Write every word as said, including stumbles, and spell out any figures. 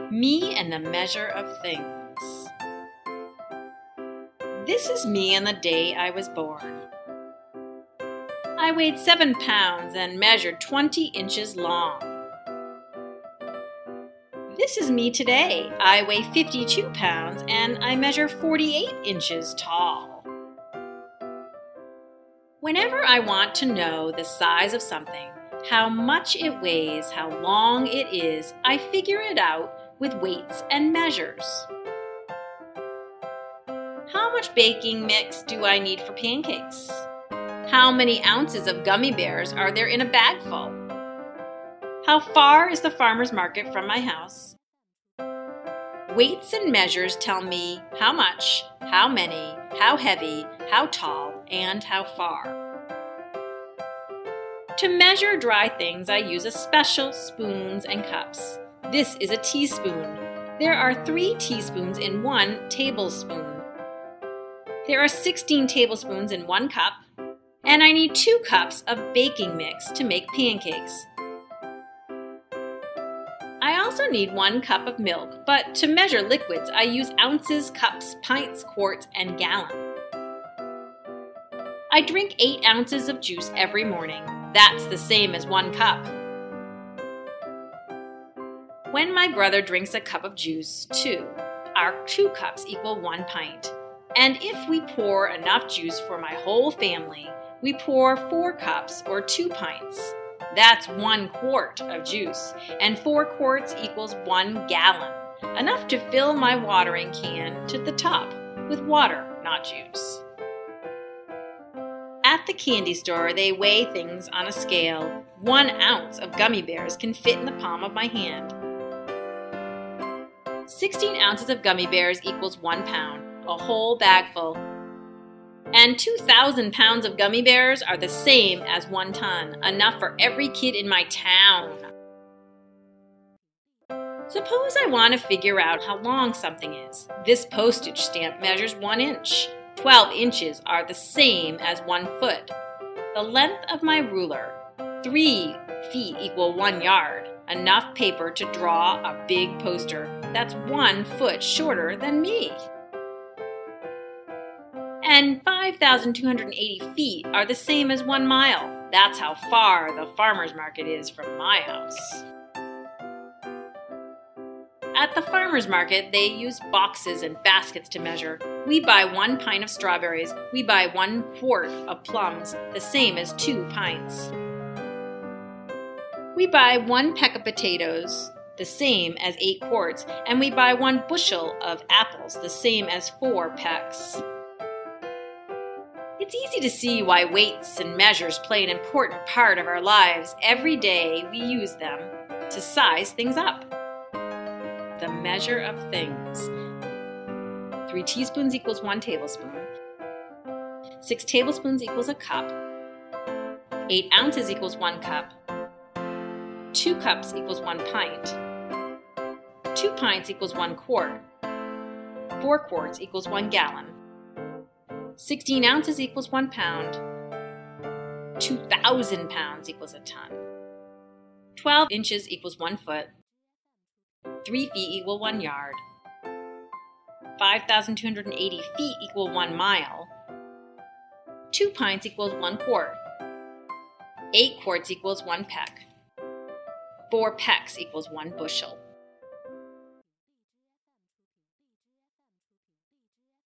Me and the measure of things. This is me on the day I was born. I weighed seven pounds and measured twenty inches long. This is me today. I weigh fifty-two pounds and I measure forty-eight inches tall. Whenever I want to know the size of something, how much it weighs, how long it is, I figure it out with weights and measures. How much baking mix do I need for pancakes? How many ounces of gummy bears are there in a bag full? How far is the farmer's market from my house? Weights and measures tell me how much, how many, how heavy, how tall, and how far. To measure dry things, I use a special spoons and cups. This is a teaspoon. There are three teaspoons in one tablespoon. There are sixteen tablespoons in one cup, and I need two cups of baking mix to make pancakes. I also need one cup of milk, but to measure liquids, I use ounces, cups, pints, quarts, and gallon. I drink eight ounces of juice every morning. That's the same as one cup. When my brother drinks a cup of juice, two, our two cups equal one pint. And if we pour enough juice for my whole family, we pour four cups or two pints. That's one quart of juice, and four quarts equals one gallon, enough to fill my watering can to the top with water, not juice. At the candy store, they weigh things on a scale. One ounce of gummy bears can fit in the palm of my hand. sixteen ounces of gummy bears equals one pound, a whole bag full. And two thousand pounds of gummy bears are the same as one ton, enough for every kid in my town. Suppose I want to figure out how long something is. This postage stamp measures one inch. twelve inches are the same as one foot. The length of my ruler, three feet equal one yard, enough paper to draw a big poster. That's one foot shorter than me. And five thousand two hundred eighty feet are the same as one mile. That's how far the farmer's market is from my house. At the farmer's market, they use boxes and baskets to measure. We buy one pint of strawberries. We buy one quart of plums, the same as two pints. We buy one peck of potatoes, the same as eight quarts, and we buy one bushel of apples, the same as four pecks. It's easy to see why weights and measures play an important part of our lives. Every day we use them to size things up. The measure of things. Three teaspoons equals one tablespoon. Six tablespoons equals a cup. Eight ounces equals one cup. Two cups equals one pint. Two pints equals one quart. Four quarts equals one gallon. Sixteen ounces equals one pound. Two thousand pounds equals a ton. Twelve inches equals one foot. Three feet equal one yard. five thousand two hundred eighty feet equal one mile. Two pints equals one quart. Eight quarts equals one peck. Four pecks equals one bushel.